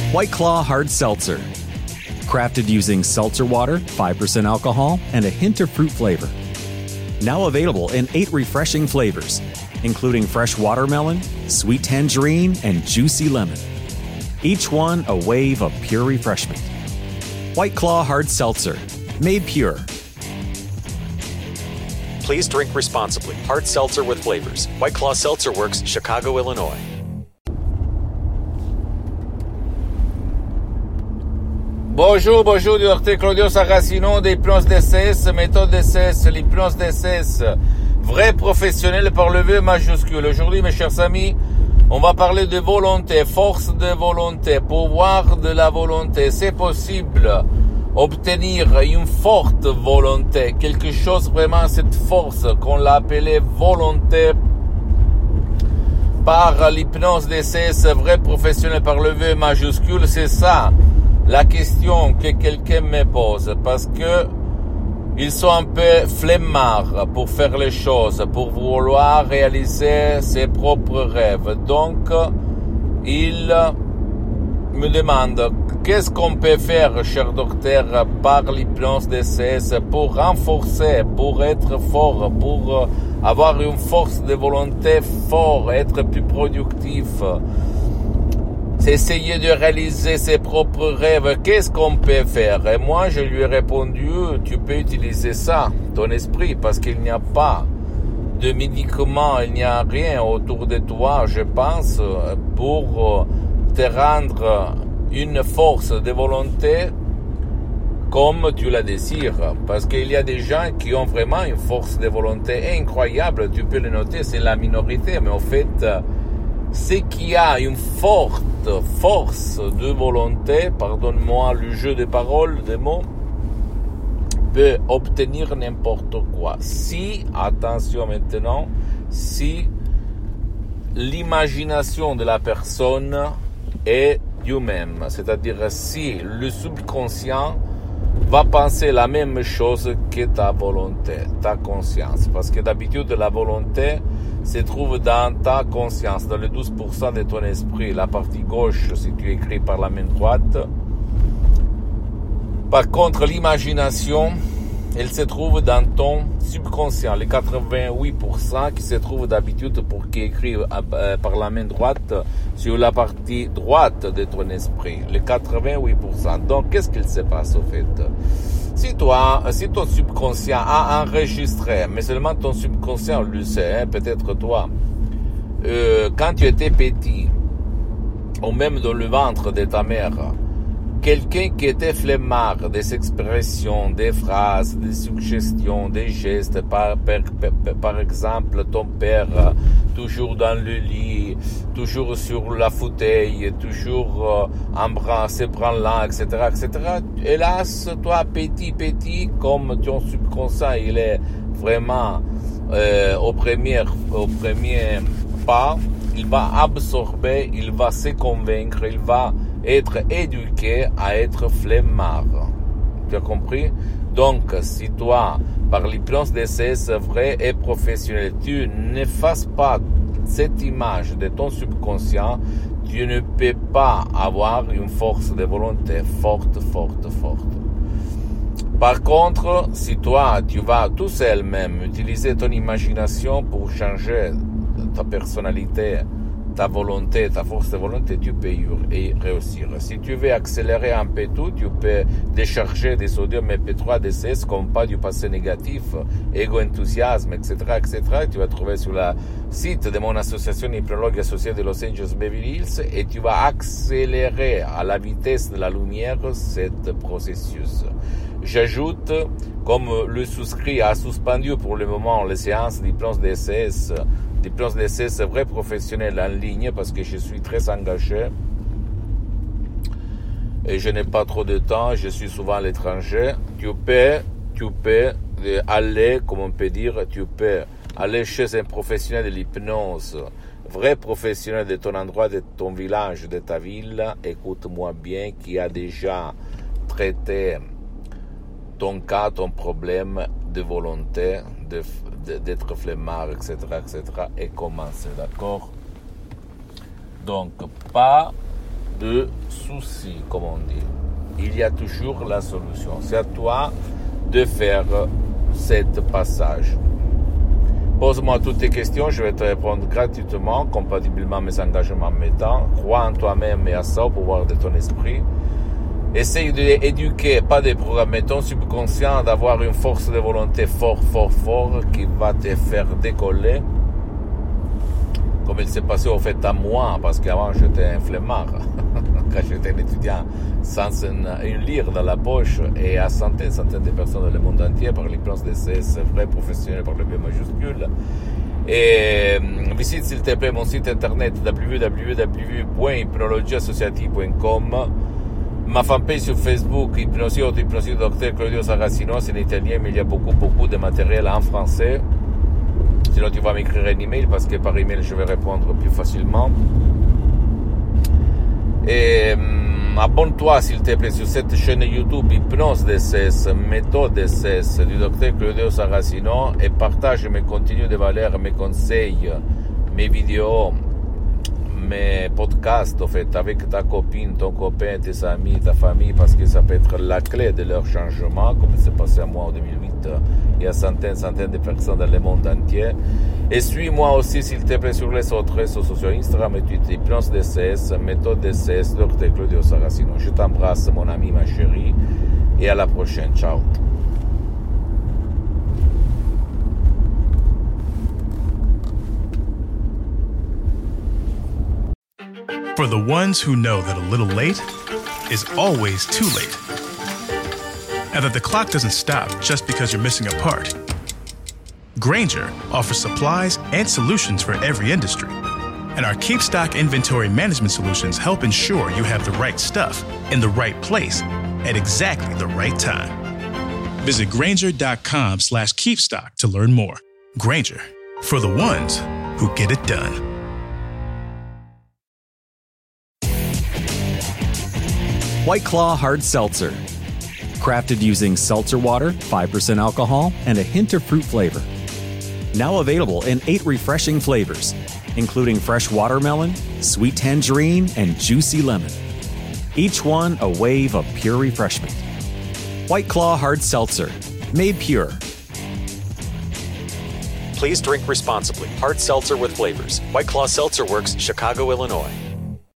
White Claw Hard Seltzer. Crafted using seltzer water, 5% alcohol, and a hint of fruit flavor. Now available in 8 refreshing flavors, including fresh watermelon, sweet tangerine, and juicy lemon. Each one a wave of pure refreshment. White Claw Hard Seltzer, made pure. Please drink responsibly. Hard seltzer with flavors. White Claw Seltzer Works, Chicago, Illinois. Bonjour, docteur Claudio Saracino d'Hypnose DCS, méthode DCS, l'hypnose DCS, vrai professionnel par le V majuscule. Aujourd'hui, mes chers amis, on va parler de volonté, force de volonté, pouvoir de la volonté. C'est possible obtenir une forte volonté, quelque chose vraiment, cette force qu'on l'a appelée volonté par l'hypnose DCS, vrai professionnel par le V majuscule, c'est ça la question que quelqu'un me pose, parce que ils sont un peu flemmards pour faire les choses, pour vouloir réaliser ses propres rêves. Donc, ils me demandent qu'est-ce qu'on peut faire, cher docteur, par l'hypnose DCS pour renforcer, pour être fort, pour avoir une force de volonté forte, être plus productif. C'est essayer de réaliser ses propres rêves. Qu'est-ce qu'on peut faire? Et moi, je lui ai répondu, tu peux utiliser ça, ton esprit, parce qu'il n'y a pas de médicaments, il n'y a rien autour de toi, je pense, pour te rendre une force de volonté comme tu la désires. Parce qu'il y a des gens qui ont vraiment une force de volonté incroyable, tu peux le noter, c'est la minorité, mais en fait, c'est qui a une forte force de volonté, pardonne-moi le jeu de paroles, des mots, peut obtenir n'importe quoi. Si, attention maintenant, si l'imagination de la personne est du même, c'est-à-dire si le subconscient va penser la même chose que ta volonté, ta conscience, parce que d'habitude la volonté se trouve dans ta conscience, dans le 12% de ton esprit, la partie gauche si tu écris par la main droite. Par contre, l'imagination, elle se trouve dans ton subconscient, les 88% qui se trouvent d'habitude pour qui écrit par la main droite sur la partie droite de ton esprit, les 88%. Donc, qu'est-ce qu'il se passe au fait? Si ton subconscient a enregistré, mais seulement ton subconscient le sait, peut-être toi, quand tu étais petit, ou même dans le ventre de ta mère, quelqu'un qui était flemmard, des expressions, des phrases, des suggestions, des gestes, par exemple, ton père, toujours dans le lit, toujours sur la fauteuil, toujours se branlant, etc., etc. Hélas, toi, petit, comme ton subconscient, il est vraiment au premier pas, il va absorber, il va se convaincre, il va être éduqué à être flemmard. Tu as compris? Donc, si toi, par l'hypnose DCS vrai et professionnel, tu n'effaces pas cette image de ton subconscient, tu ne peux pas avoir une force de volonté forte. Par contre, si toi, tu vas tout seul même utiliser ton imagination pour changer ta personnalité, ta volonté, ta force de volonté, tu peux y réussir. Si tu veux accélérer un peu tout, tu peux décharger des sodium MP3 DCS comme pas du passé négatif, égo-enthousiasme, etc., etc. Tu vas trouver sur le site de mon association hypnologue associée de Los Angeles Beverly Hills et tu vas accélérer à la vitesse de la lumière cet processus. J'ajoute, comme le souscrit a suspendu pour le moment les séances d'hypnose DCS, l'hypnose DCS vrai professionnel en ligne parce que je suis très engagé et je n'ai pas trop de temps, je suis souvent à l'étranger. Tu peux aller, comme on peut dire, tu peux aller chez un professionnel de l'hypnose, vrai professionnel de ton endroit, de ton village, de ta ville, écoute-moi bien, qui a déjà traité ton cas, ton problème de volonté, d'être flemmard, etc., et commencer, d'accord? Donc, pas de souci, comme on dit. Il y a toujours la solution. C'est à toi de faire cet passage. Pose-moi toutes tes questions, je vais te répondre gratuitement, compatiblement à mes engagements mettants. Crois en toi-même et à ça, au pouvoir de ton esprit. Essaye d'éduquer, pas de programmer ton subconscient, d'avoir une force de volonté fort qui va te faire décoller. Comme il s'est passé au fait à moi, parce qu'avant j'étais un flemmard. Quand j'étais un étudiant sans une lire dans la poche et à centaines de personnes dans le monde entier par l'hypnose DCS, vrai professionnel par le B majuscule. Et visite s'il te plaît mon site internet www.hypnologieassociative.com, ma fanpage sur Facebook, Hypnosie Dr Claudio Saracino, c'est en italien, mais il y a beaucoup de matériel en français. Sinon tu vas m'écrire un email parce que par email je vais répondre plus facilement. Et abonne-toi s'il te plaît sur cette chaîne YouTube Hypnose DCS, méthode DCS du Dr Claudio Saracino et partage mes contenus de valeur, mes conseils, mes vidéos, mes podcasts en fait, avec ta copine, ton copain, tes amis, ta famille, parce que ça peut être la clé de leur changement, comme c'est passé à moi en 2008 et à centaines de personnes dans le monde entier. Et suis-moi aussi s'il te plaît sur les autres réseaux sociaux, Instagram et Twitter, Hypnose DCS, méthode DCS, Dr Claudio Saracino. Je t'embrasse mon ami, ma chérie, et à la prochaine. Ciao. For the ones who know that a little late is always too late, and that the clock doesn't stop just because you're missing a part, Grainger offers supplies and solutions for every industry. And our KeepStock inventory management solutions help ensure you have the right stuff in the right place at exactly the right time. Visit Grainger.com/KeepStock to learn more. Grainger, for the ones who get it done. White Claw Hard Seltzer. Crafted using seltzer water, 5% alcohol, and a hint of fruit flavor. Now available in 8 refreshing flavors, including fresh watermelon, sweet tangerine, and juicy lemon. Each one a wave of pure refreshment. White Claw Hard Seltzer. Made pure. Please drink responsibly. Hard seltzer with flavors. White Claw Seltzer Works, Chicago, Illinois.